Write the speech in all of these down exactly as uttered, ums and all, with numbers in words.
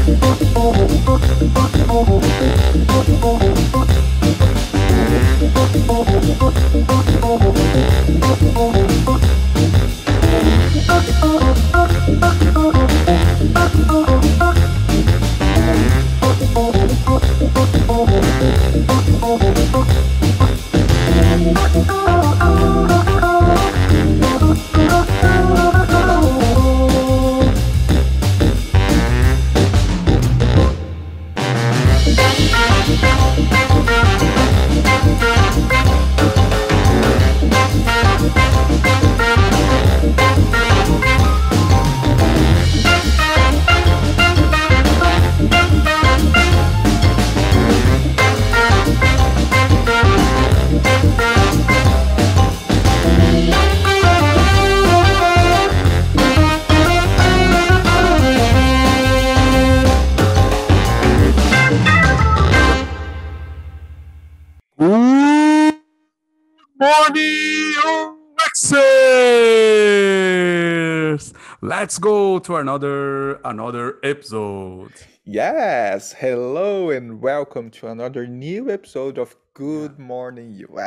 Let's go to another another episode. Yes, hello and welcome to another new episode of Good yeah. Morning U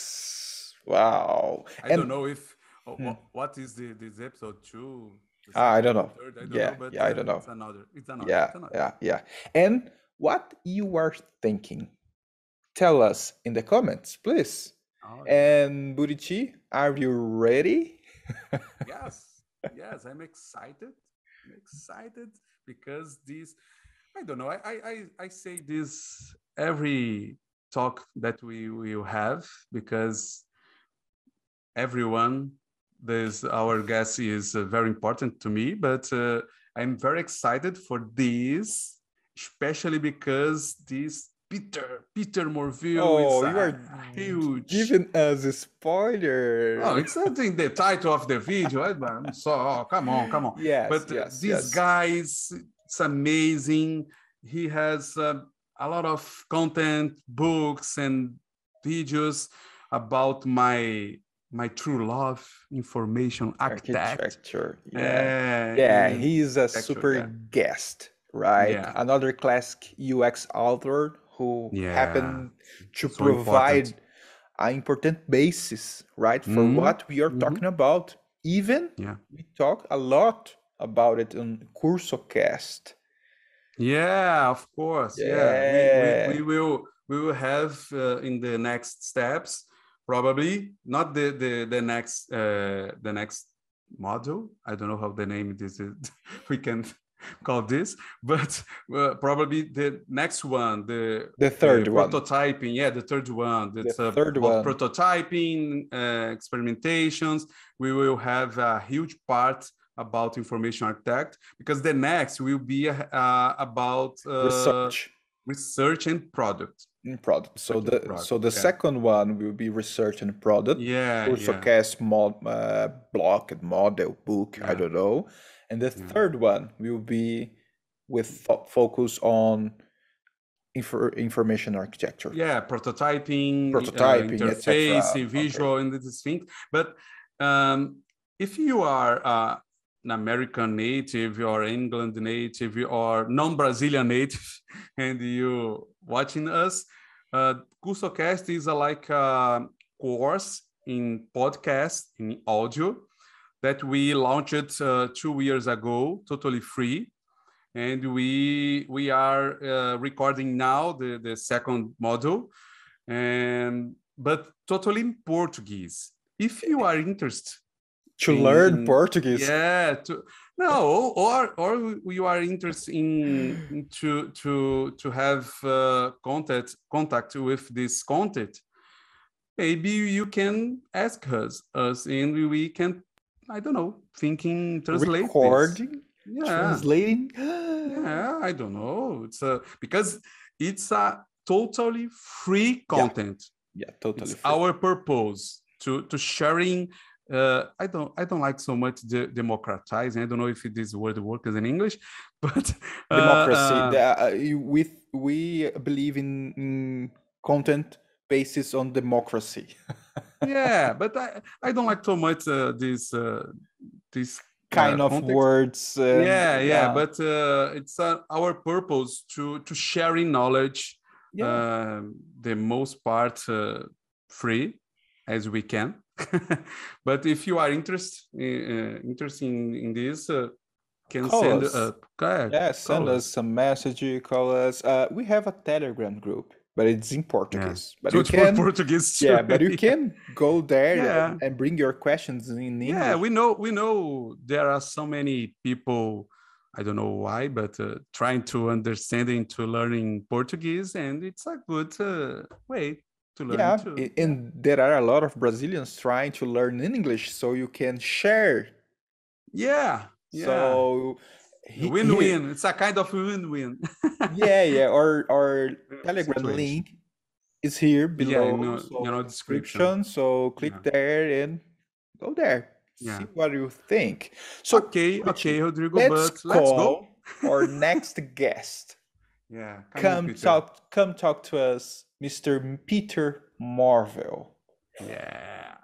X. Wow. I and, don't know if oh, hmm. what is the this episode two? Ah, I don't know. Third, I don't yeah, know, but yeah, I don't know. It's another. It's another. Yeah, it's another. yeah, yeah. And what you are thinking? Tell us in the comments, please. Oh, yeah. And Burichi, are you ready? yes. Yes, I'm excited. I'm excited because this, I don't know, I, I, I say this every talk that we will have because everyone, this our guest is uh, very important to me, but uh, I'm very excited for this, especially because this Peter, Peter Morville oh, is you are huge. Giving us a spoiler. Oh, it's not in the title of the video. I'm so oh, come on, come on. Yes, but uh, yes, this yes. guy is it's amazing. He has uh, a lot of content, books, and videos about my my true love, information architect. Architecture. Yeah, uh, yeah. He's a super yeah. guest, right? Yeah. Another classic U X author who yeah. happened to so provide important. an important basis, right, for mm-hmm. what we are mm-hmm. talking about. Even yeah. we talk a lot about it on CursoCast. Yeah, of course. Yeah, yeah. We, we, we will we will have uh, in the next steps probably not the the the next uh, the next module. I don't know how the name this is. we can. call this, but uh, probably the next one, the the third uh, one, prototyping. Yeah, the third one. That's the third uh, one. Prototyping, uh, experimentations. We will have a huge part about information architect because the next will be uh, about uh, research, research and product. In product. So the product. so the yeah. second one will be research and product. Yeah, CursoCast yeah. mod uh, block and model book. Yeah. I don't know. And the yeah. third one will be with fo- focus on infor- information architecture. Yeah, prototyping, prototyping, uh, interface, et visual, okay. and these things. But um, if you are uh, an American native or England native or non-Brazilian native, and you watching us, uh, CursoCast is a, like a course in podcast, in audio, that we launched uh, two years ago, totally free. And we we are uh, recording now the, the second module, and but totally in Portuguese. If you are interested to in, learn in, Portuguese, yeah, to, no, or or you are interested in, in to to to have uh, contact contact with this content, maybe you can ask us us, and we can. I don't know, thinking, translate recording, yeah. translating. yeah, I don't know. It's a, because it's a totally free content. Yeah, yeah totally. It's free. Our purpose to to sharing. Uh, I don't I don't like so much the democratizing. I don't know if this word works in English, but uh, democracy. Uh, the, uh, we we believe in, in content basis on democracy. yeah, but I, I don't like so much uh, this uh, this kind uh, of context. words. And, yeah, yeah, uh, but uh, it's uh, our purpose to to sharing knowledge, yeah. uh, the most part uh, free as we can. But if you are interested uh, interested in, in this, uh, can call send us. Uh, uh, yeah, send us, us some message. Call us. Uh, we have a Telegram group, but it's in Portuguese. Yeah. But Good you can, Portuguese too. Yeah, but you can go there yeah. and, and bring your questions in English. Yeah, we know we know there are so many people. I don't know why, but uh, trying to understanding to learning Portuguese, and it's a good uh, way to learn yeah, too. And yeah. there are a lot of Brazilians trying to learn English, so you can share. Yeah, yeah. So win-win. It's a kind of win-win. yeah, yeah. Our our Telegram Situation. link is here below. Yeah, no, so you know, description. So click yeah. there and go there. Yeah. See what you think. So okay, Richie, okay, Rodrigo. Let's but call let's go. our next guest. Yeah, come, come on, talk. Come talk to us, Mister Peter Marvel. Yeah.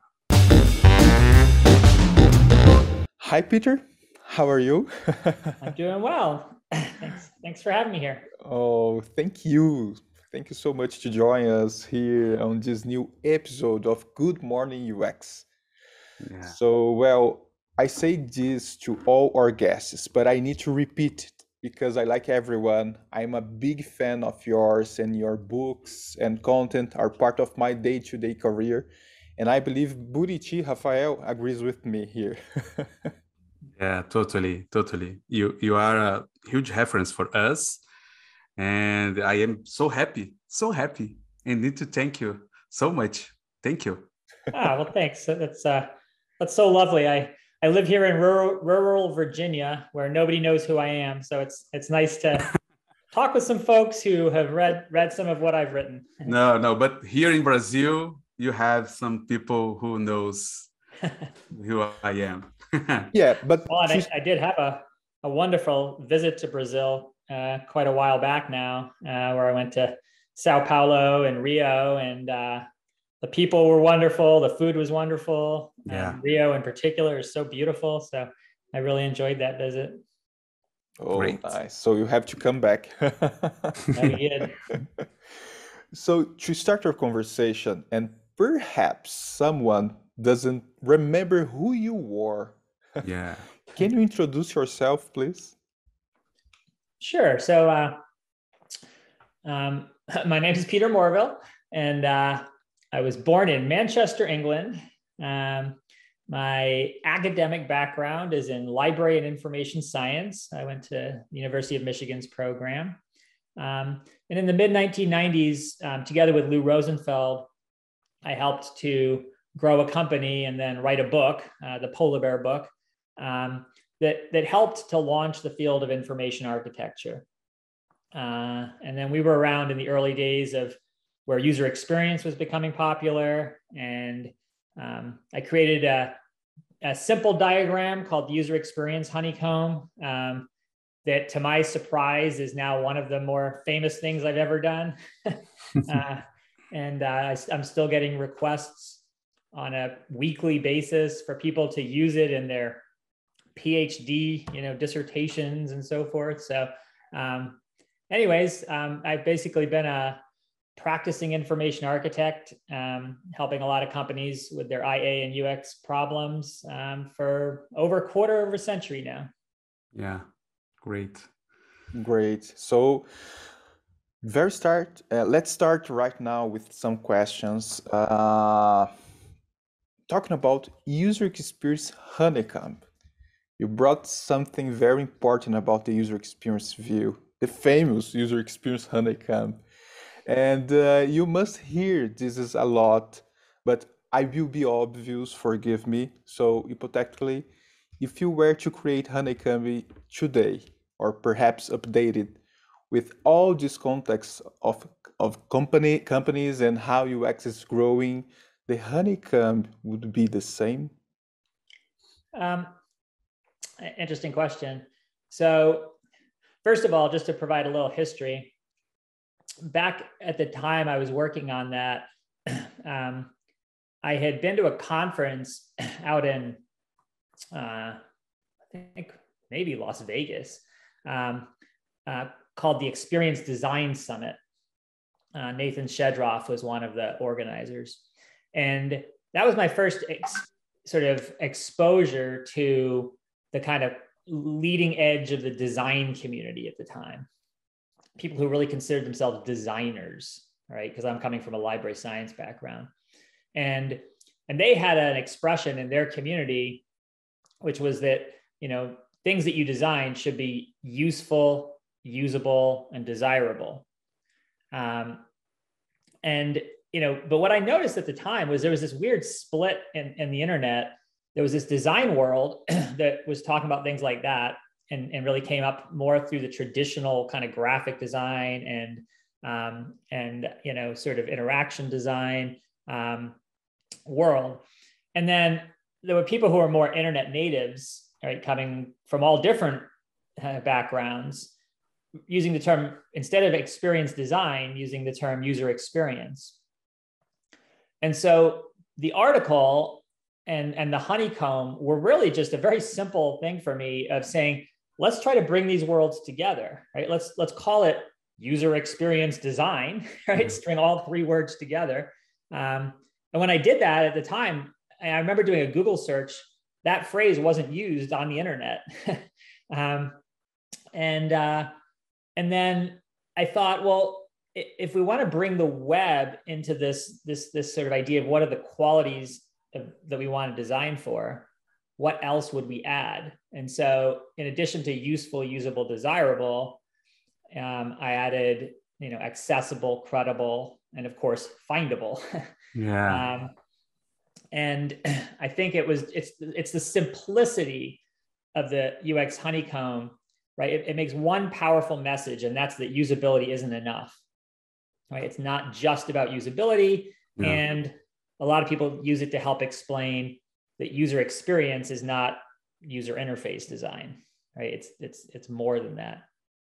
Hi, Peter. How are you? I'm doing well. Thanks. Thanks for having me here. Oh, thank you. Thank you so much to join us here on this new episode of Good Morning U X. Yeah. So, well, I say this to all our guests, but I need to repeat it because I like everyone. I'm a big fan of yours, and your books and content are part of my day-to-day career. And I believe Buriti Rafael agrees with me here. Yeah, totally, totally. You you are a huge reference for us, and I am so happy, so happy, and need to thank you so much. Thank you. Ah, well, thanks. That's uh, that's so lovely. I I live here in rural rural Virginia, where nobody knows who I am, so it's it's nice to talk with some folks who have read read some of what I've written. No, no, but here in Brazil, you have some people who knows who I am. Yeah, but well, and I, I did have a, a wonderful visit to Brazil uh, quite a while back now, uh, where I went to Sao Paulo and Rio, and uh, the people were wonderful. The food was wonderful. Yeah. Um, Rio in particular is so beautiful. So I really enjoyed that visit. Oh, Great. Nice. So you have to come back. Very good. So to start our conversation, and perhaps someone doesn't remember who you were. Yeah. Can you introduce yourself, please? Sure. So uh, um, my name is Peter Morville, and uh, I was born in Manchester, England. Um, my academic background is in library and information science. I went to the University of Michigan's program. Um, and in the mid nineteen nineties, um, together with Lou Rosenfeld, I helped to grow a company and then write a book, uh, the Polar Bear book, um, that, that helped to launch the field of information architecture. Uh, and then we were around in the early days of where user experience was becoming popular. And um, I created a, a simple diagram called the user experience honeycomb um, that, to my surprise, is now one of the more famous things I've ever done. uh, and uh, I, I'm still getting requests on a weekly basis for people to use it in their PhD, you know, dissertations and so forth. So um, anyways, um, I've basically been a practicing information architect, um, helping a lot of companies with their I A and U X problems um, for over a quarter of a century now. Yeah, great. Great. So very start, uh, let's start right now with some questions. Uh, Talking about user experience honeycomb, you brought something very important about the user experience view, the famous user experience honeycomb. And uh, you must hear this is a lot, but I will be obvious, forgive me. So hypothetically, if you were to create honeycomb today, or perhaps update it with all this context of, of company companies and how U X is growing, the honeycomb would be the same? Um, interesting question. So first of all, just to provide a little history, back at the time I was working on that, um, I had been to a conference out in, uh, I think maybe Las Vegas, um, uh, called the Experience Design Summit. Uh, Nathan Shedroff was one of the organizers. And that was my first ex- sort of exposure to the kind of leading edge of the design community at the time. People who really considered themselves designers, right? Because I'm coming from a library science background. And, and they had an expression in their community, which was that, you know, things that you design should be useful, usable, and desirable. Um, and, you know, but what I noticed at the time was there was this weird split in, in the internet. There was this design world that was talking about things like that, and, and really came up more through the traditional kind of graphic design and, um, and, you know, sort of interaction design um, world. And then there were people who were more internet natives, right, coming from all different uh, backgrounds, using the term, instead of experience design, using the term user experience. And so the article and, and the honeycomb were really just a very simple thing for me of saying, let's try to bring these worlds together, right? Let's, let's call it user experience design, right? Mm-hmm. String all three words together. Um, and when I did that at the time, I remember doing a Google search, that phrase wasn't used on the internet. um, and, uh, and then I thought, well, if we want to bring the web into this, this, this sort of idea of what are the qualities of, that we want to design for, what else would we add? And so in addition to useful, usable, desirable, um, I added, you know, accessible, credible, and of course, findable. Yeah. um, and I think it was, it's, it's the simplicity of the U X honeycomb, right? It, it makes one powerful message, and that's that usability isn't enough, right? It's not just about usability. Yeah. And a lot of people use it to help explain that user experience is not user interface design, right? It's, it's, it's more than that.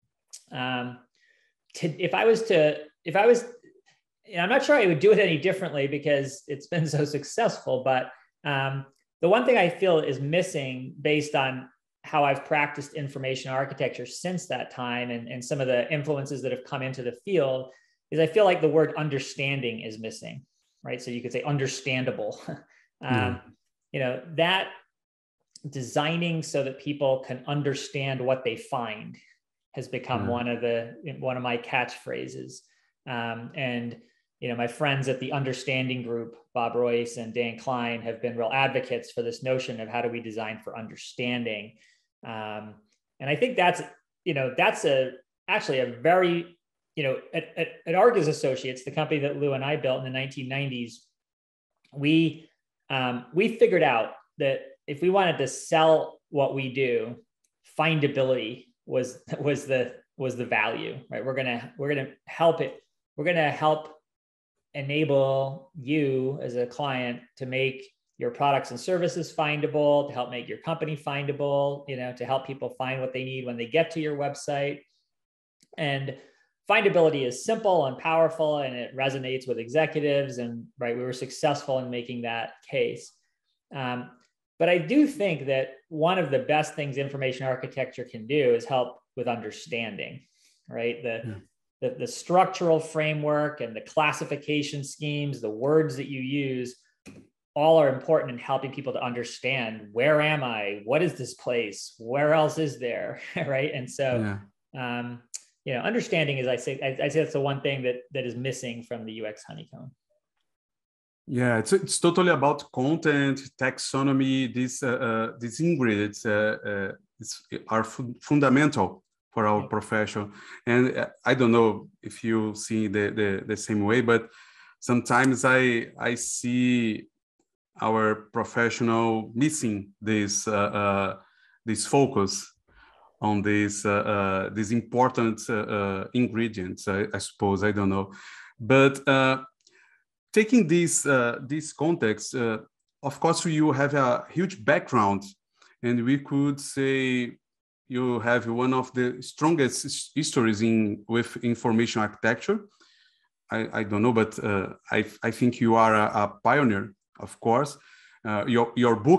Um, to, if I was to, if I was, I'm not sure I would do it any differently because it's been so successful, but um, the one thing I feel is missing based on how I've practiced information architecture since that time, and, and some of the influences that have come into the field, is I feel like the word understanding is missing, right? So you could say understandable. um, mm. You know, that designing so that people can understand what they find has become mm. one of the, one of my catchphrases. Um, and, you know, my friends at the Understanding Group, Bob Royce and Dan Klein, have been real advocates for this notion of how do we design for understanding. Um, and I think that's, you know, that's a, actually a very, you know, at, at, at Argus Associates, the company that Lou and I built in the nineteen nineties, we, um, we figured out that if we wanted to sell what we do, findability was, was the, was the value, right? We're going to, we're going to help it. We're going to help enable you as a client to make your products and services findable, to help make your company findable, you know, to help people find what they need when they get to your website. And findability is simple and powerful, and it resonates with executives. And right, we were successful in making that case. Um, but I do think that one of the best things information architecture can do is help with understanding, right? The, yeah. the, the structural framework and the classification schemes, the words that you use, all are important in helping people to understand, where am I? What is this place? Where else is there? Right. And so, yeah. um, you know, understanding is, I say, I, I say that's the one thing that, that is missing from the U X honeycomb. Yeah, it's, it's totally about content, taxonomy. These, uh, uh, these ingredients uh, uh, it's, are fu fundamental for our profession. And uh, I don't know if you see the, the, the same way, but sometimes I, I see our professional missing this, uh, uh, this focus on these, uh, uh, these important uh, uh, ingredients, I, I suppose, I don't know. But uh, taking this, uh, this context, uh, of course, you have a huge background, and we could say you have one of the strongest histories in with information architecture. I, I don't know, but uh, I, I think you are a, a pioneer, of course. Uh, your, your book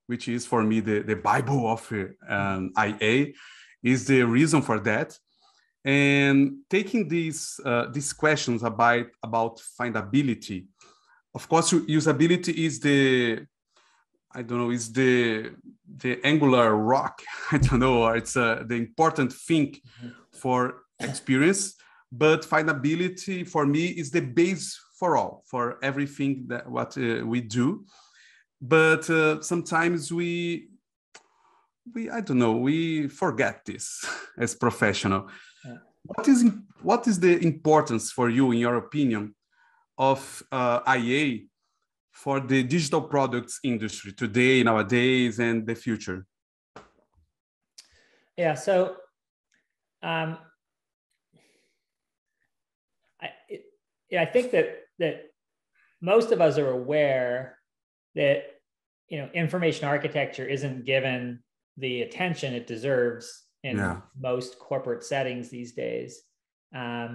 which is for me the, the Bible of um, I A, is the reason for that. And taking these uh, these questions about about findability, of course, usability is the I don't know is the the angular rock. I don't know, or it's uh, the important thing for experience. But findability for me is the base for all, for everything that what uh, we do. But uh, sometimes we we I don't know we forget this as professional. Yeah. What is what is the importance for you, in your opinion, of uh, I A for the digital products industry today, nowadays, and the future? Yeah, so um, I it, yeah, I think that that most of us are aware that you know information architecture isn't given the attention it deserves in yeah. most corporate settings these days. Um,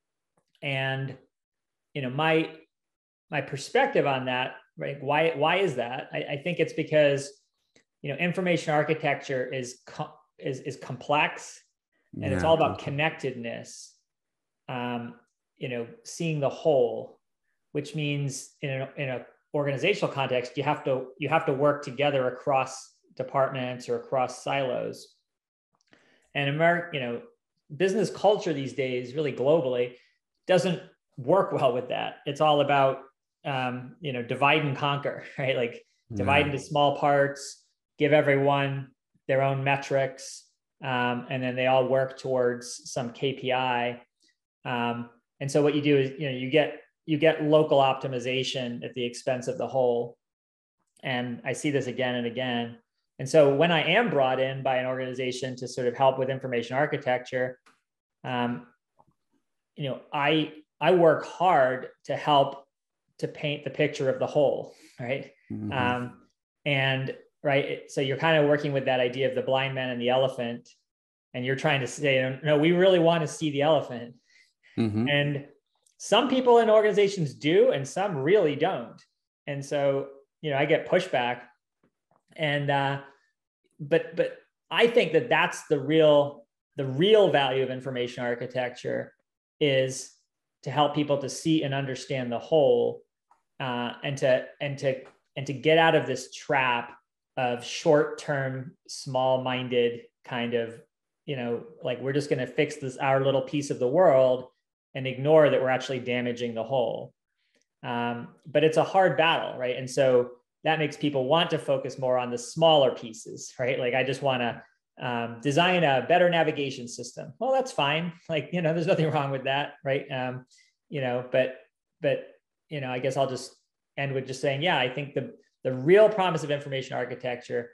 and, you know, my, my perspective on that, right? Why, why is that? I, I think it's because, you know, information architecture is, co- is, is complex and yeah, it's all about connectedness. Um, you know, seeing the whole, which means in an in a organizational context, you have to, you have to work together across departments or across silos. And America, you know, business culture these days, really globally, doesn't work well with that. It's all about, um, you know, divide and conquer, right? Like divide yeah. into small parts, give everyone their own metrics, um, and then they all work towards some K P I. Um, and so what you do is, you know, you get you get local optimization at the expense of the whole. And I see this again and again. And so when I am brought in by an organization to sort of help with information architecture, um, you know, I I work hard to help to paint the picture of the whole, right? Mm-hmm. Um, and right, so you're kind of working with that idea of the blind man and the elephant, and you're trying to say, no, we really want to see the elephant. Mm-hmm. And some people in organizations do, and some really don't. And so, you know, I get pushback. And uh, but but I think that that's the real the real value of information architecture, is to help people to see and understand the whole, uh, and to and to and to get out of this trap of short-term, small-minded kind of, you know, like we're just going to fix this our little piece of the world and ignore that we're actually damaging the whole. Um, but it's a hard battle, right? And so that makes people want to focus more on the smaller pieces, right? Like I just want to um, design a better navigation system. Well, that's fine. Like, you know, there's nothing wrong with that, right? Um, you know, but, but, you know, I guess I'll just end with just saying, yeah, I think the, the real promise of information architecture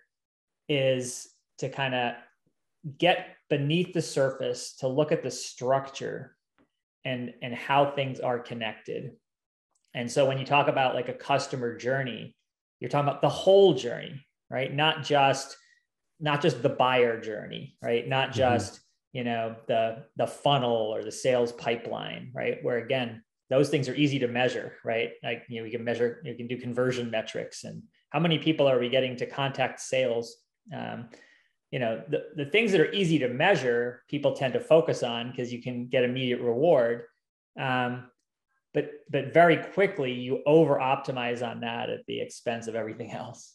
is to kind of get beneath the surface, to look at the structure and, and how things are connected. And so when you talk about like a customer journey, you're talking about the whole journey, right? Not just, not just the buyer journey, right? Not just, mm-hmm. you know, the, the funnel or the sales pipeline, right? Where again, those things are easy to measure, right? Like, you know, we can measure, you can do conversion metrics and how many people are we getting to contact sales? Um, you know, the, the things that are easy to measure, people tend to focus on because you can get immediate reward. Um, But, but very quickly you over optimize on that at the expense of everything else.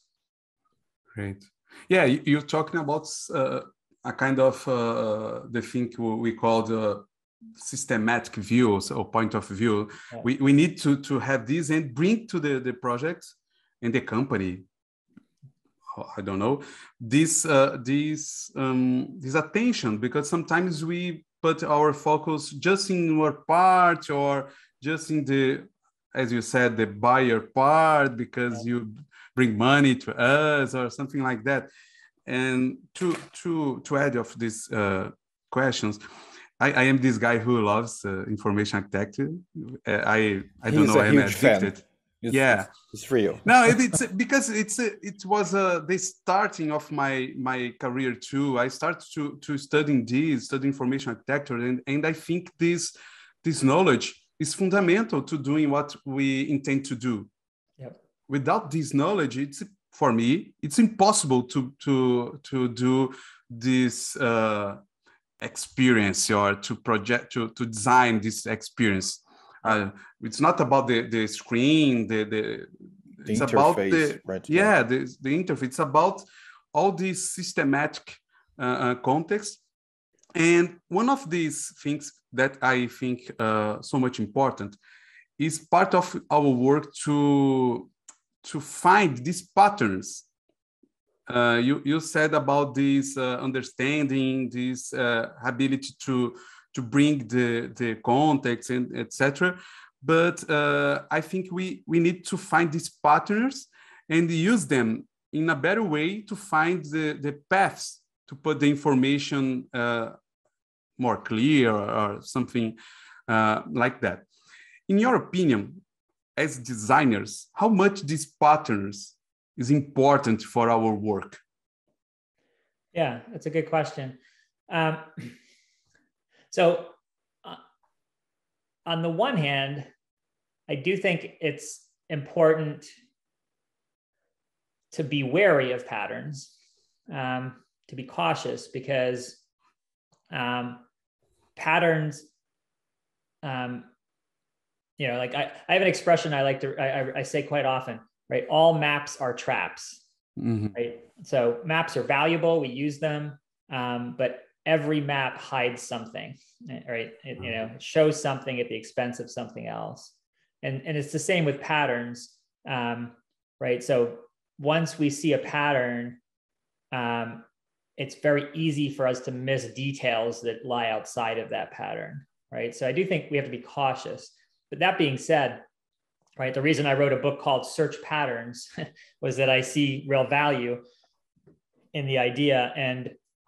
Great. Yeah, you're talking about uh, a kind of uh, the thing we call the systematic view, or point of view. Yeah. We, we need to, to have this and bring to the, the project and the company, I don't know, this, uh, this, um, this attention, because sometimes we put our focus just in one part or just in the, as you said, the buyer part, because yeah. you bring money to us or something like that. And to to to add of these uh, questions, I, I am this guy who loves uh, information architecture. I I don't He's know, a I'm huge addicted. Fan. It's, yeah, it's real. No, it, it's because it's it was uh, the starting of my my career too. I started to to studying this, study information architecture, and and I think this this knowledge is fundamental to doing what we intend to do. Yep. Without this knowledge, it's for me, it's impossible to to to do this uh, experience or to project to to design this experience. Uh, it's not about the the screen, the the, the it's interface, about the right? yeah, yeah. The, the interface. It's about all these systematic uh, uh, context. And one of these things that I think uh, so much important is part of our work to to find these patterns. Uh, you you said about this uh, understanding, this uh, ability to to bring the the context and et cetera. But uh, I think we we need to find these patterns and use them in a better way to find the the paths to put the information uh, more clear or something uh, like that. In your opinion, as designers, how much these patterns is important for our work? Yeah, that's a good question. Um, so uh, on the one hand, I do think it's important to be wary of patterns, um, to be cautious, because um, patterns, um, you know, like I, I have an expression I like to, I, I say quite often, right? All maps are traps, mm-hmm. right? So maps are valuable, we use them, um, but every map hides something, right? It, you know, it shows something at the expense of something else. And, and it's the same with patterns, um, right? So once we see a pattern, um, it's very easy for us to miss details that lie outside of that pattern, right? So I do think we have to be cautious. But that being said, right, the reason I wrote a book called Search Patterns was that I see real value in the idea. And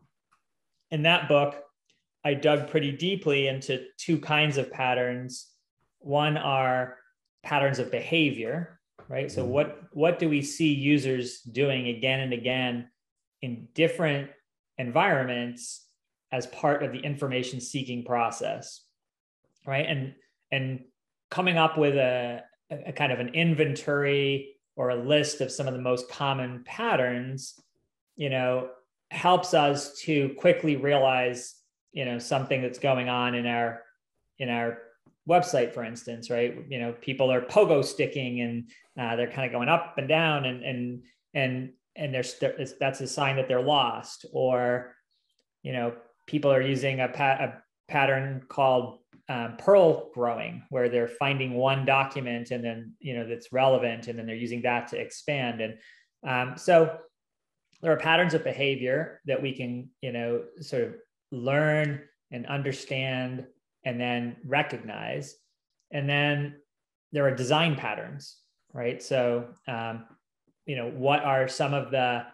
in that book, I dug pretty deeply into two kinds of patterns. One are patterns of behavior, right? So what, what do we see users doing again and again in different environments as part of the information seeking process, right? And, and coming up with a, a kind of an inventory or a list of some of the most common patterns, you know, helps us to quickly realize, you know, something that's going on in our, in our website, for instance, right? You know, people are pogo sticking and uh, they're kind of going up and down, and, and, and, and there's, that's a sign that they're lost. Or, you know, people are using a, pat, a pattern called um, Perl growing, where they're finding one document and then, you know, that's relevant, and then they're using that to expand. And um, so there are patterns of behavior that we can, you know, sort of learn and understand and then recognize. And then there are design patterns, right? So, um, you know, what are some of the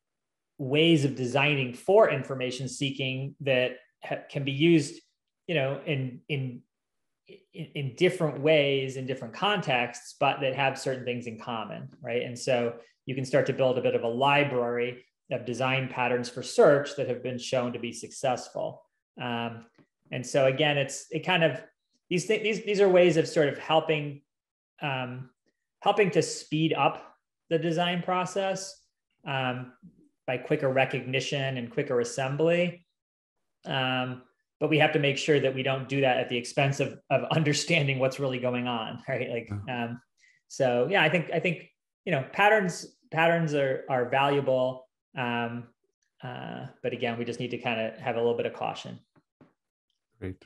ways of designing for information seeking that ha- can be used, you know, in, in, in, in different ways, in different contexts, but that have certain things in common, right? And so you can start to build a bit of a library of design patterns for search that have been shown to be successful. Um, and so again, it's, it kind of, these things, these, these are ways of sort of helping, um, helping to speed up the design process um, by quicker recognition and quicker assembly. Um, but we have to make sure that we don't do that at the expense of, of understanding what's really going on, right? Like, um, so yeah, I think, I think, you know, patterns, patterns are, are valuable. Um, uh, but again, we just need to kind of have a little bit of caution. Great.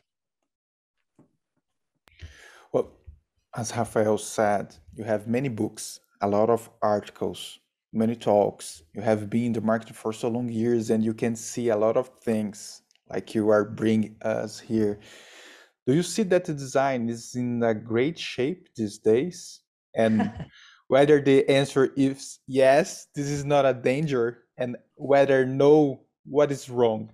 Well, as Rafael said, you have many books, a lot of articles, many talks. You have been in the market for so long years, and you can see a lot of things like you are bringing us here. Do you see that the design is in a great shape these days? And whether the answer is yes, this is not a danger, and whether no, what is wrong?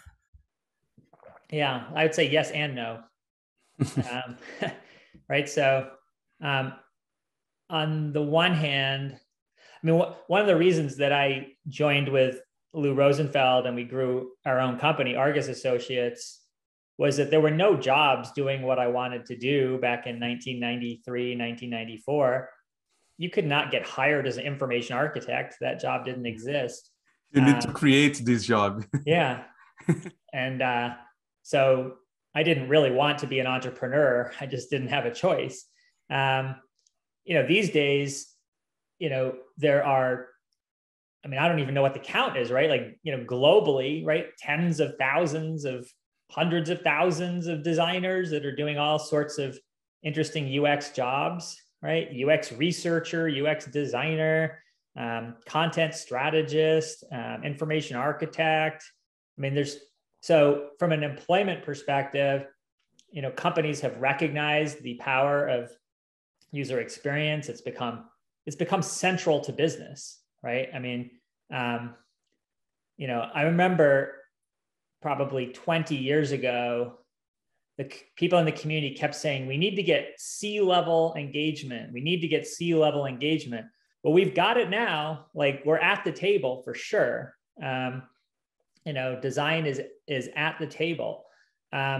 Yeah, I would say yes and no. um, right. So um, on the one hand, I mean, wh- one of the reasons that I joined with Lou Rosenfeld and we grew our own company, Argus Associates, was that there were no jobs doing what I wanted to do back in nineteen ninety-three, nineteen ninety-four. you could not get hired as an information architect. That job didn't exist. You need um, to create this job. Yeah. And uh, so I didn't really want to be an entrepreneur. I just didn't have a choice. Um, you know, these days, you know, there are, I mean, I don't even know what the count is, right? Like, you know, globally, right? Tens of thousands of hundreds of thousands of designers that are doing all sorts of interesting U X jobs, right? U X researcher, U X designer, um, content strategist, um, information architect. I mean, there's, so from an employment perspective, you know, companies have recognized the power of user experience. It's become, it's become central to business, right? I mean, um, you know, I remember probably twenty years ago, the people in the community kept saying, we need to get C-level engagement. We need to get C-level engagement. Well, we've got it now. Like, we're at the table for sure. Um, you know, design is, is at the table. Um,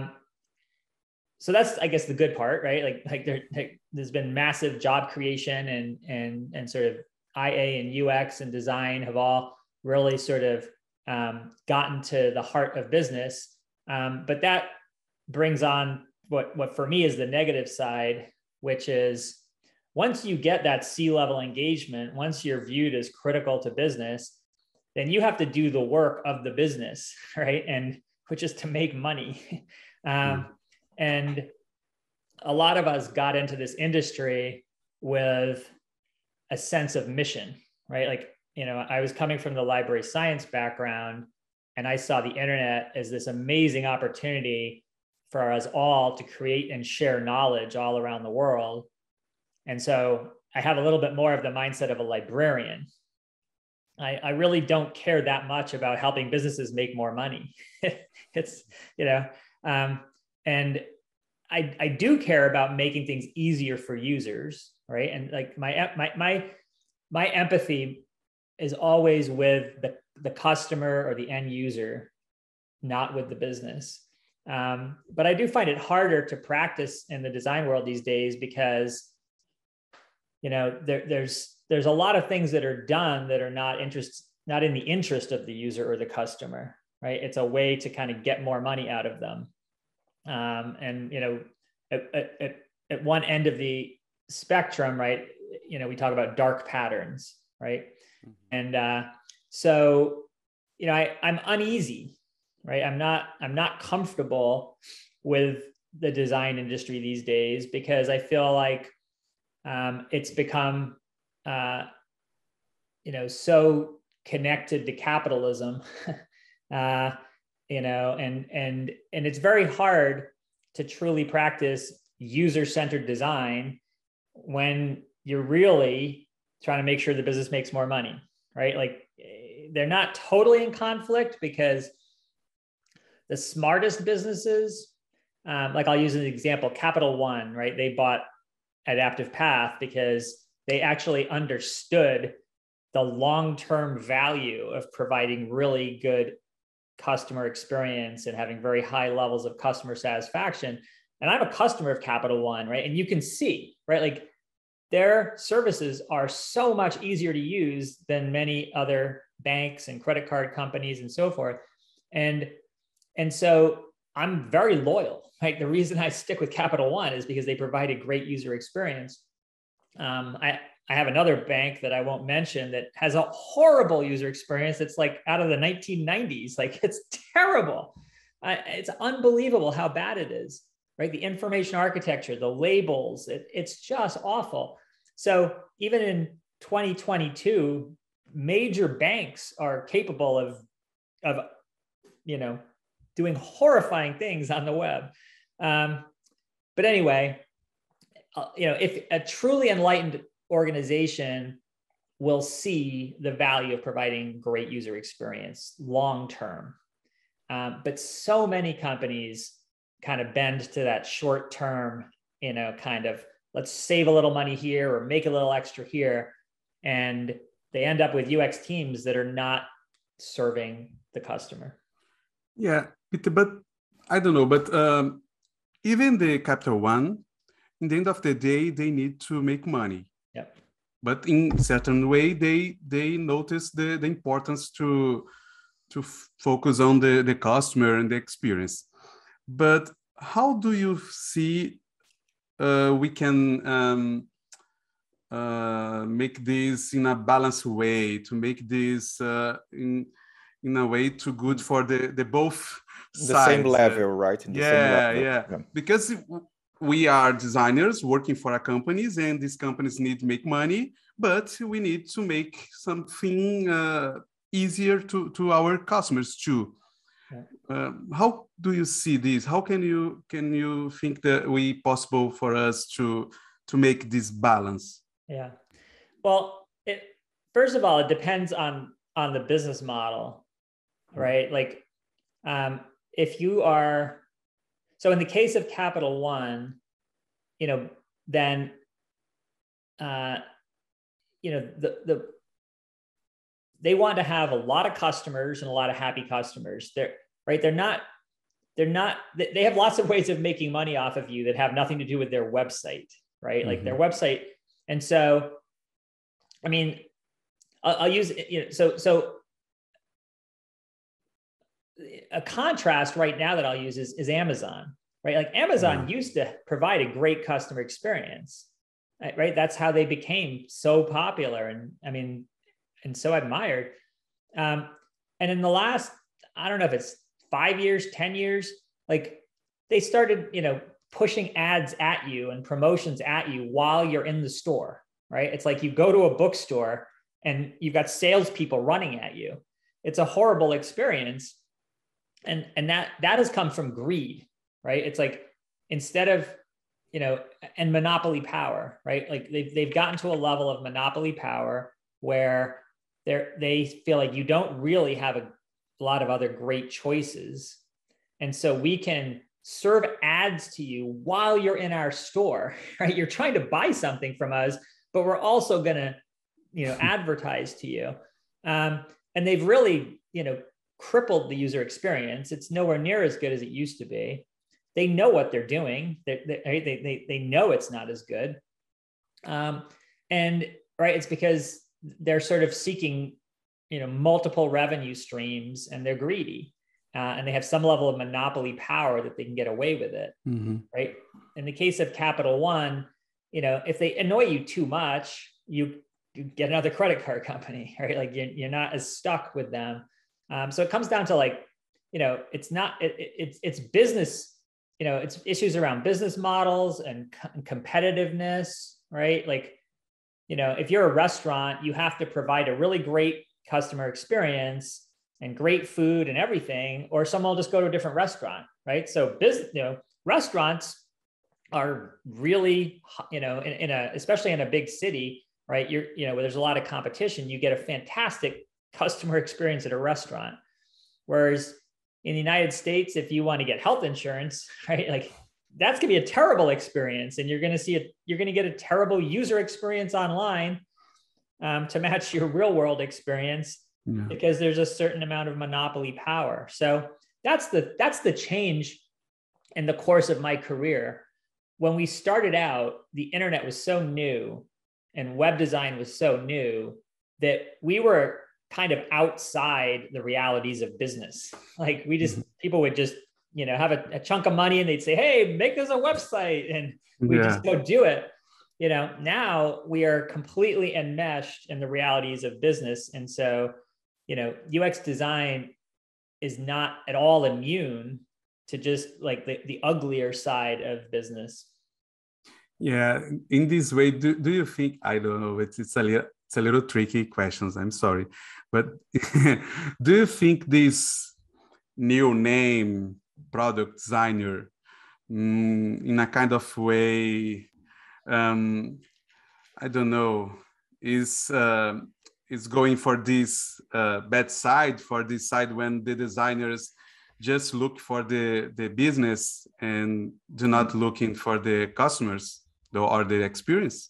so that's, I guess, the good part, right? Like, like, there, like there's been massive job creation, and, and, and sort of I A and U X and design have all really sort of um, gotten to the heart of business. Um, but that brings on what, what for me is the negative side, which is once you get that C-level engagement, once you're viewed as critical to business, then you have to do the work of the business, right? And which is to make money. um, mm. And a lot of us got into this industry with a sense of mission, right? Like, you know, I was coming from the library science background, and I saw the internet as this amazing opportunity for us all to create and share knowledge all around the world. And so I have a little bit more of the mindset of a librarian. I, I really don't care that much about helping businesses make more money. It's, you know, um, and I, I do care about making things easier for users, right? And like my, my, my, my empathy is always with the, the customer or the end user, not with the business. Um, but I do find it harder to practice in the design world these days because, you know, there, there's, there's a lot of things that are done that are not interest, not in the interest of the user or the customer, right? It's a way to kind of get more money out of them. Um, and, you know, at, at, at one end of the spectrum, right, you know, we talk about dark patterns, right? Mm-hmm. And uh, so, you know, I, I'm uneasy, right? I'm not, I'm not comfortable with the design industry these days because I feel like um, it's become, uh, you know, so connected to capitalism, uh, you know, and, and, and it's very hard to truly practice user-centered design when you're really trying to make sure the business makes more money, right? Like, they're not totally in conflict because the smartest businesses, um, like I'll use an example, Capital One, right? They bought Adaptive Path because they actually understood the long-term value of providing really good customer experience and having very high levels of customer satisfaction. And I'm a customer of Capital One, right? And you can see, right? Like, their services are so much easier to use than many other banks and credit card companies and so forth. And, and so I'm very loyal, right? The reason I stick with Capital One is because they provide a great user experience. Um, I, I have another bank that I won't mention that has a horrible user experience. It's like out of the nineteen nineties. Like, it's terrible. I, it's unbelievable how bad it is, right? The information architecture, the labels, it, it's just awful. So even in twenty twenty-two, major banks are capable of, of, you know, doing horrifying things on the web. Um, but anyway, uh, you know, if a truly enlightened organization will see the value of providing great user experience long-term. Um, but so many companies kind of bend to that short-term, you know, kind of, let's save a little money here or make a little extra here. And they end up with U X teams that are not serving the customer. Yeah, but I don't know, but um, even the Capital One, in the end of the day, they need to make money. Yep. but in certain way, they they notice the, the importance to to focus on the, the customer and the experience. But how do you see uh, we can um, uh, make this in a balanced way, to make this uh, in in a way too good for the, the both the sides. Same level, uh, right? In the yeah, same level. yeah, yeah. Because we are designers working for our companies, and these companies need to make money, but we need to make something uh, easier to, to our customers too. Yeah. Uh, how do you see this? How can you can you think that we possible for us to to make this balance? Yeah. Well, it, first of all, it depends on on the business model, right? Like, um, if you are, so in the case of Capital One, you know, then, uh, you know, the the they want to have a lot of customers and a lot of happy customers. They're right. They're not. They're not. They have lots of ways of making money off of you that have nothing to do with their website, right? Mm-hmm. Like their website, and so, I mean, I'll, I'll use you know. So so. A contrast right now that I'll use is, is Amazon, right? Like Amazon mm-hmm. used to provide a great customer experience, right? That's how they became so popular and I mean, and so admired. Um, and in the last, I don't know if it's five years, ten years, like they started, you know, pushing ads at you and promotions at you while you're in the store, right? It's like you go to a bookstore and you've got salespeople running at you. It's a horrible experience. And, and that, that has come from greed, right? It's like, instead of, you know, and monopoly power, right? Like they've, they've gotten to a level of monopoly power where they're, they feel like you don't really have a lot of other great choices. And so we can serve ads to you while you're in our store, right? You're trying to buy something from us, but we're also going to, you know, advertise to you. Um, and they've really, you know, crippled the user experience. It's nowhere near as good as it used to be. They know what they're doing. They, they, they, they know it's not as good. Um, and right, it's because they're sort of seeking, you know, multiple revenue streams and they're greedy. Uh, and they have some level of monopoly power that they can get away with it, mm-hmm. right? In the case of Capital One, you know, if they annoy you too much, you, you get another credit card company, right? Like you're, you're not as stuck with them. Um, so it comes down to like, you know, it's not, it, it, it's, it's business, you know, it's issues around business models and co- competitiveness, right? Like, you know, if you're a restaurant, you have to provide a really great customer experience and great food and everything, or someone will just go to a different restaurant, right? So business, you know, restaurants are really, you know, in, in a, especially in a big city, right? You're, you know, where there's a lot of competition, you get a fantastic customer experience at a restaurant. Whereas in the United States, if you want to get health insurance, right, like that's going to be a terrible experience. And you're going to see it, you're going to get a terrible user experience online um, to match your real world experience yeah. because there's a certain amount of monopoly power. So that's the, that's the change in the course of my career. When we started out, the internet was so new and web design was so new that we were kind of outside the realities of business. Like we just, mm-hmm. people would just, you know, have a, a chunk of money and they'd say, hey, make us a website. And we yeah. just go do it. You know, now we are completely enmeshed in the realities of business. And so, you know, U X design is not at all immune to just like the, the uglier side of business. Yeah. In this way, do, do you think, I don't know, it's, it's a little, it's a little tricky questions, I'm sorry. But do you think this new name, product designer, mm, in a kind of way, um, I don't know, is uh, is going for this uh, bad side, for this side when the designers just look for the, the business and do not looking for the customers or the experience?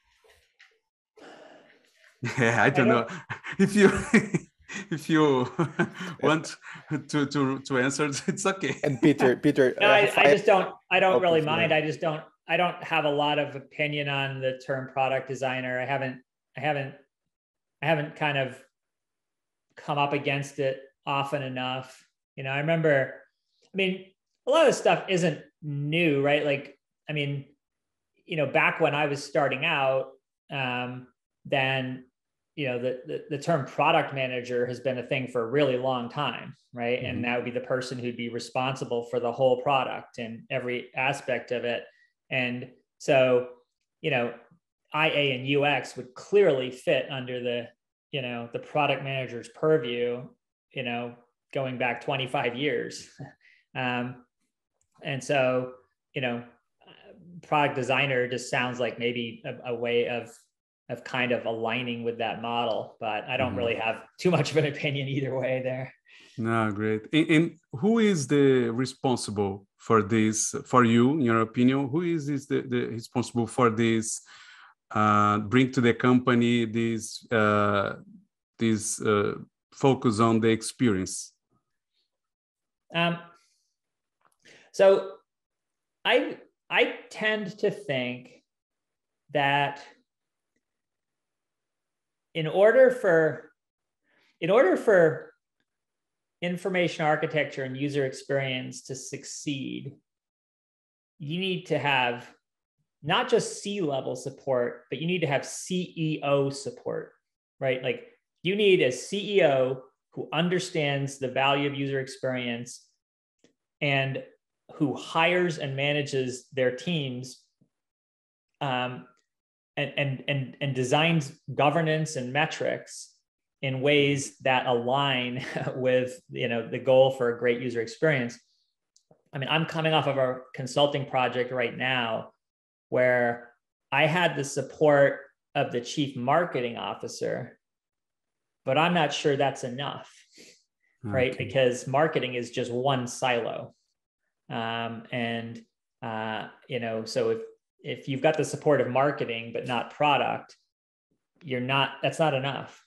Yeah, I don't, I don't know if you if you want to to to answer, it's okay. And Peter, Peter, no, I, I just don't. I don't really mind. I just don't. I don't have a lot of opinion on the term product designer. I haven't I haven't, I haven't kind of come up against it often enough. You know, I remember, I mean, a lot of this stuff isn't new, right? Like, I mean, you know, back when I was starting out, um, then, you know, the, the, the term product manager has been a thing for a really long time, right? Mm-hmm. And that would be the person who'd be responsible for the whole product and every aspect of it. And so, you know, I A and U X would clearly fit under the, you know, the product manager's purview, you know, going back twenty-five years. um, and so, you know, product designer just sounds like maybe a, a way of, of kind of aligning with that model, but I don't mm-hmm. really have too much of an opinion either way there. No, great. And, and who is the responsible for this, for you, in your opinion? Who is, is the, the responsible for this, uh, bring to the company this, uh, this uh, focus on the experience? Um, so I, I tend to think that in order for, in order for information architecture and user experience to succeed, you need to have not just C-level support, but you need to have C E O support, right? Like you need a C E O who understands the value of user experience and who hires and manages their teams um, and, and, and, and designs governance and metrics in ways that align with, you know, the goal for a great user experience. I mean, I'm coming off of a consulting project right now where I had the support of the chief marketing officer, but I'm not sure that's enough, okay. right? Because marketing is just one silo. Um, and, uh, you know, so if, if you've got the support of marketing, but not product, you're not, that's not enough.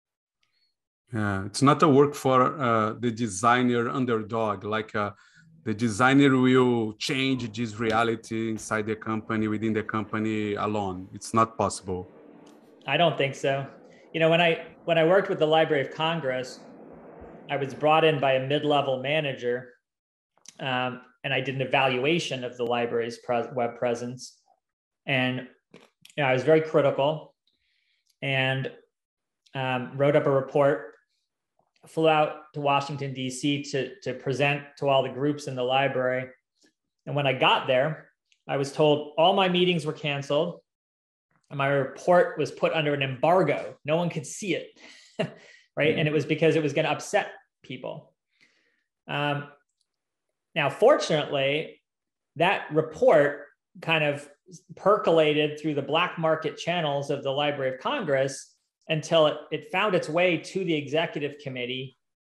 Yeah, it's not a work for uh, the designer underdog, like uh, the designer will change this reality inside the company, within the company alone. It's not possible. I don't think so. You know, when I, when I worked with the Library of Congress, I was brought in by a mid-level manager um, and I did an evaluation of the library's pres- web presence. And you know, I was very critical and um, wrote up a report, flew out to Washington, D C to, to present to all the groups in the library. And when I got there, I was told all my meetings were canceled and my report was put under an embargo. No one could see it, right? Mm-hmm. And it was because it was going to upset people. Um, now, fortunately, that report kind of percolated through the black market channels of the Library of Congress until it, it found its way to the executive committee.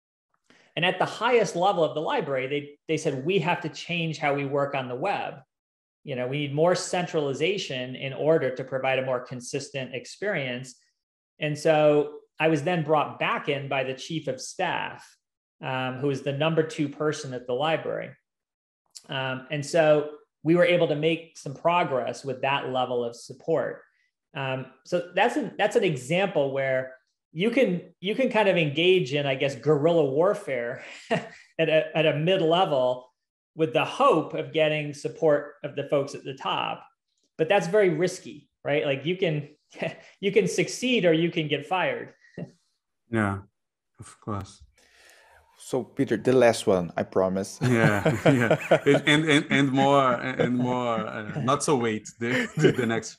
And at the highest level of the library, they, they said, we have to change how we work on the web. You know, we need more centralization in order to provide a more consistent experience. And so I was then brought back in by the chief of staff, um, who is the number two person at the library. Um, and so we were able to make some progress with that level of support. Um, so that's an, that's an example where you can, you can kind of engage in, I guess, guerrilla warfare at a, at a mid-level with the hope of getting support of the folks at the top. But that's very risky, right? Like you can, you can succeed or you can get fired. Yeah, of course. So Peter, the last one, I promise. Yeah, yeah, and and and more and more, uh, not so wait the the next.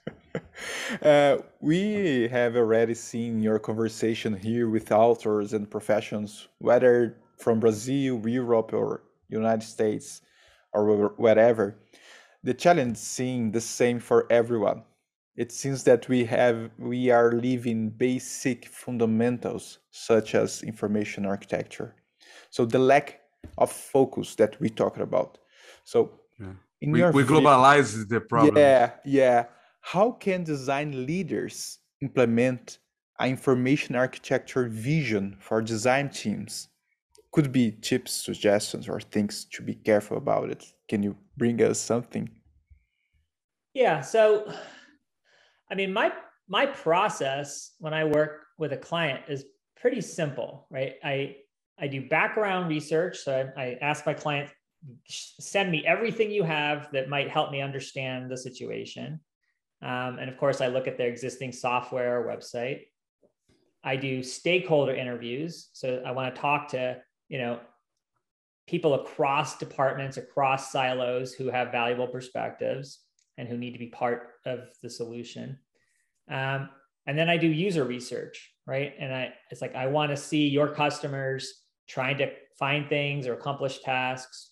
Uh, we have already seen your conversation here with authors and professions, whether from Brazil, Europe, or United States, or wherever. The challenge seems the same for everyone. It seems that we have we are leaving basic fundamentals such as information architecture. So the lack of focus that we talked about. So yeah. in we, your we globalize the problem. Yeah, yeah. How can design leaders implement an information architecture vision for design teams? Could be tips, suggestions, or things to be careful about it. Can you bring us something? Yeah. So, I mean, my my process when I work with a client is pretty simple, right? I, I do background research. So I, I ask my client, send me everything you have that might help me understand the situation. Um, and of course, I look at their existing software or website. I do stakeholder interviews. So I want to talk to, you know, people across departments, across silos who have valuable perspectives and who need to be part of the solution. Um, and then I do user research, right? And I, it's like, I want to see your customers trying to find things or accomplish tasks.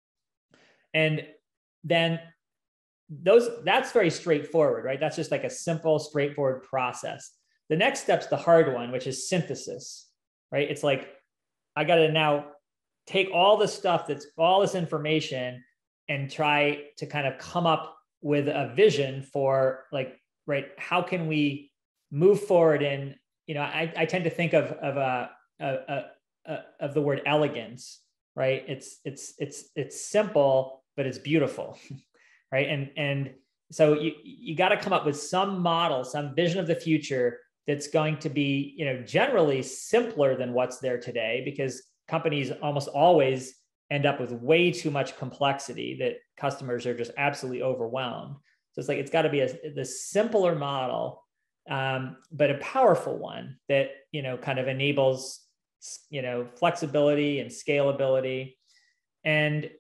And then those, that's very straightforward, right? That's just like a simple, straightforward process. The next step's the hard one, which is synthesis, right? It's like, I got to now take all the stuff that's all this information and try to kind of come up with a vision for like, right, how can we move forward in, you know, I, I tend to think of, of a, a, a, a of the word elegance, right? It's, it's, it's, it's simple, but it's beautiful, right? And, and so you, you got to come up with some model, some vision of the future that's going to be, you know, generally simpler than what's there today, because companies almost always end up with way too much complexity that customers are just absolutely overwhelmed. So it's like, it's got to be a, the simpler model, um, but a powerful one that, you know, kind of enables, you know, flexibility and scalability. And,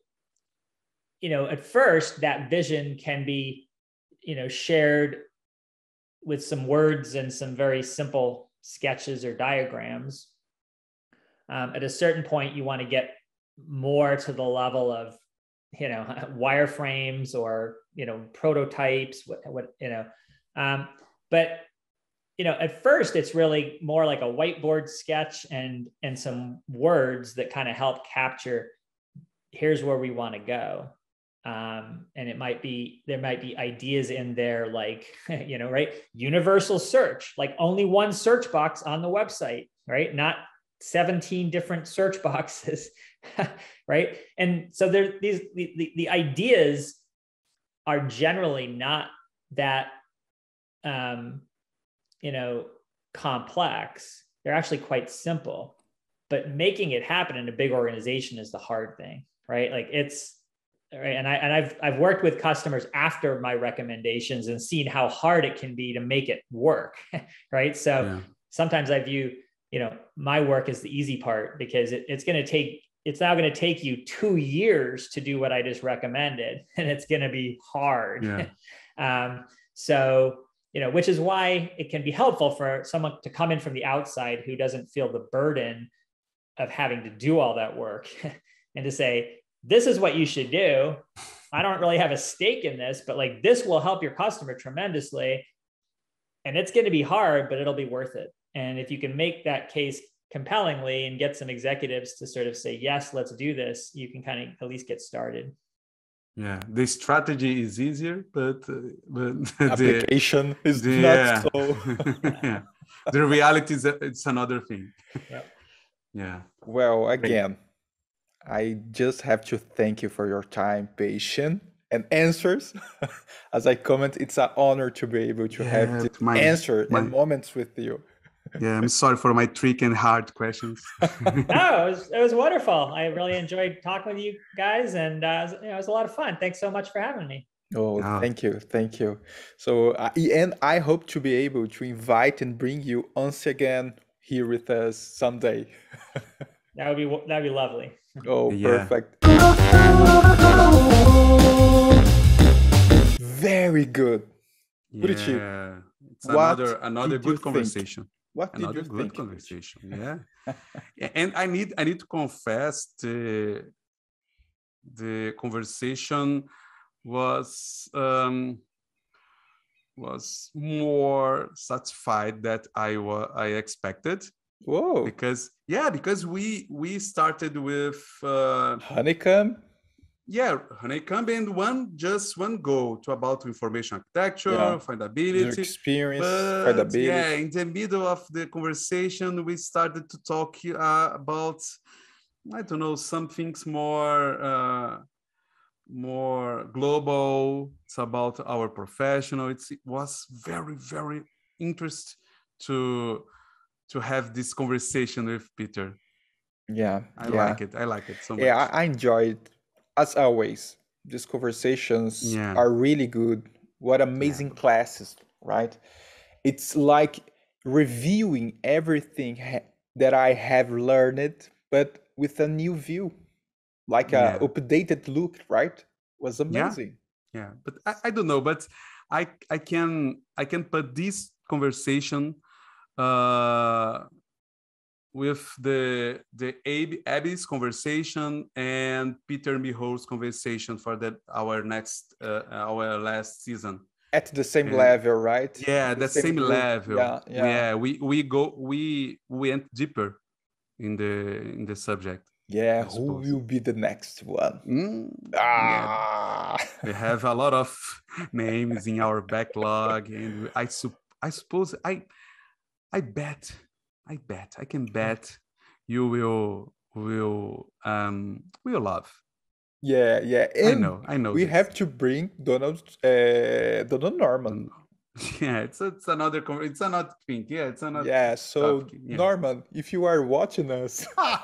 you know, at first that vision can be, you know, shared with some words and some very simple sketches or diagrams. Um, at a certain point, you want to get more to the level of, you know, wireframes or, you know, prototypes, what, what you know. Um, but, you know, at first, it's really more like a whiteboard sketch and, and some words that kind of help capture, here's where we want to go. Um, and it might be, there might be ideas in there like, you know, right, universal search, like only one search box on the website, right? Not seventeen different search boxes, right? And so there, these the, the, the ideas are generally not that, um, you know, complex. They're actually quite simple, but making it happen in a big organization is the hard thing, right? Like it's, right. And I, and I've, I've worked with customers after my recommendations and seen how hard it can be to make it work, right? So yeah. Sometimes I view, you know, my work is the easy part because it, it's going to take, it's now going to take you two years to do what I just recommended. And it's going to be hard. Yeah. um, so, you know, which is why it can be helpful for someone to come in from the outside who doesn't feel the burden of having to do all that work and to say, this is what you should do. I don't really have a stake in this, but like, this will help your customer tremendously. And it's going to be hard, but it'll be worth it. And if you can make that case compellingly and get some executives to sort of say, yes, let's do this, you can kind of at least get started. Yeah, the strategy is easier, but, uh, but the application is the, not yeah. so. Yeah. The reality is that it's another thing. Yep. Yeah. Well, again, I just have to thank you for your time, patience, and answers. As I comment, it's an honor to be able to yeah, have this my, answer my... and moments with you. Yeah, I'm sorry for my trick and hard questions. No, it was, it was wonderful. I really enjoyed talking with you guys, and uh, it, was, you know, it was a lot of fun. Thanks so much for having me. Oh, oh. thank you, thank you. So, uh, and I hope to be able to invite and bring you once again here with us someday. That would be that would be lovely. Oh, yeah. Perfect. Very good. Yeah, it's another another good conversation. Think? What did another you good think? Conversation. Yeah. And I need I need to confess the the conversation was um, was more satisfied that I was I expected. Whoa! Because yeah, because we we started with uh, Honeycomb. Yeah, Honeycomb and one just one goal to about information architecture, yeah. findability, Your experience, but, findability. Yeah, in the middle of the conversation, we started to talk uh, about I don't know some things more uh, more global. It's about our professional. It's, it was very very interest to to have this conversation with Peter. Yeah, I yeah. like it. I like it so much. Yeah, I, I enjoyed, as always. These conversations yeah. are really good. What amazing yeah. classes, right? It's like reviewing everything ha- that I have learned, but with a new view, like yeah. a updated look, right? It was amazing. Yeah, yeah. But I, I don't know, but I I can I can put this conversation uh, with the the Ab- Abby's conversation and Peter Miho's conversation for that our next uh, our last season. At the same and, level, right? Yeah, the, the same, same level. Yeah, yeah. yeah, we we go we went deeper in the in the subject. Yeah, who will be the next one? Mm, ah, yeah. We have a lot of names in our backlog, and I su- I suppose I I bet I bet I can bet you will will um will love. Yeah, yeah. And I know, I know. We this. have to bring Donald uh, Donald Norman. Yeah, it's it's another it's another thing. Yeah, it's another. Yeah. So yeah. Norman, if you are watching us.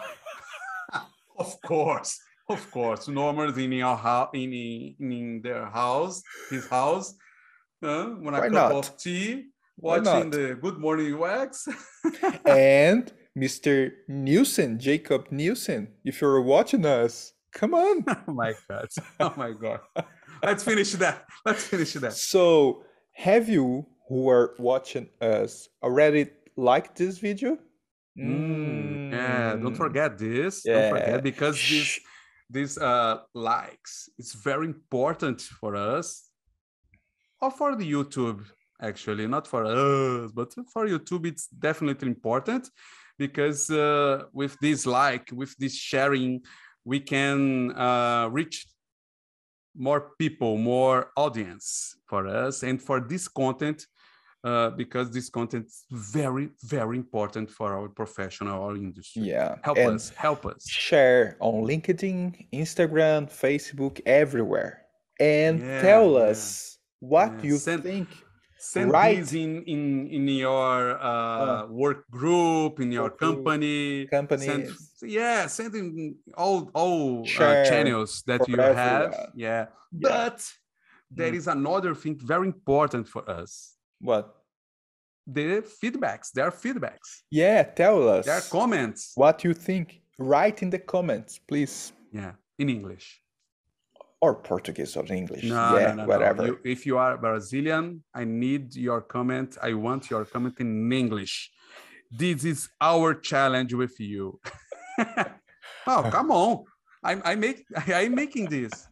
Of course, of course. Norman's in your house, in, in their house, his house, uh, with a Why cup not? of tea, watching the Good Morning U X. And Mister Nielsen, Jacob Nielsen, if you're watching us, come on. Oh my God! Oh my God! Let's finish that. Let's finish that. So, have you who are watching us already liked this video? Mm, yeah, don't forget this. Yeah. Don't forget because this this uh likes it's very important for us or for the YouTube actually, not for us, but for YouTube it's definitely important because uh, with this like, with this sharing, we can uh, reach more people, more audience for us and for this content. Uh, because this content is very, very important for our professional our industry. Yeah. Help and us, help us. Share on LinkedIn, Instagram, Facebook, everywhere. And yeah, tell yeah. us what yeah. you send, think. Send right. these in, in, in your uh, uh, work group, in your company. Companies. Send, yeah, send in all, all uh, channels that you everyone. have. Yeah. yeah. But there mm. is another thing very important for us. What? The feedbacks. There are feedbacks. Yeah, tell us. There are comments. What you think. Write in the comments, please. Yeah, in English. Or Portuguese or English. No, yeah, no, no, whatever. No. You, if you are Brazilian, I need your comment. I want your comment in English. This is our challenge with you. Oh, come on. I'm, I make, I'm making this.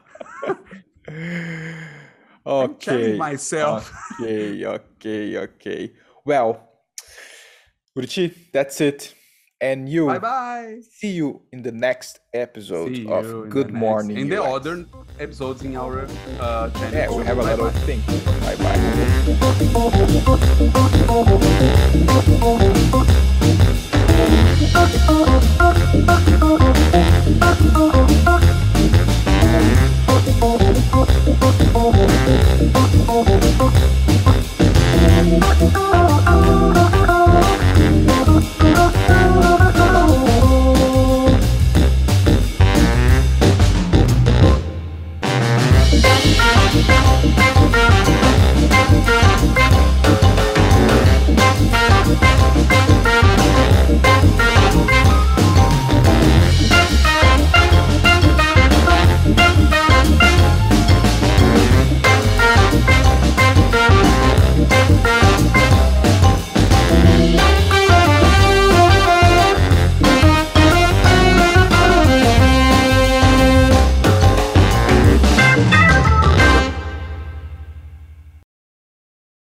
Okay. I'm telling myself. Okay, okay, okay. Well, Buriti, that's it. And you. Bye bye. See you in the next episode of Good Morning. In the other episodes in our uh, channel. Yeah, we have a lot of things. Bye bye.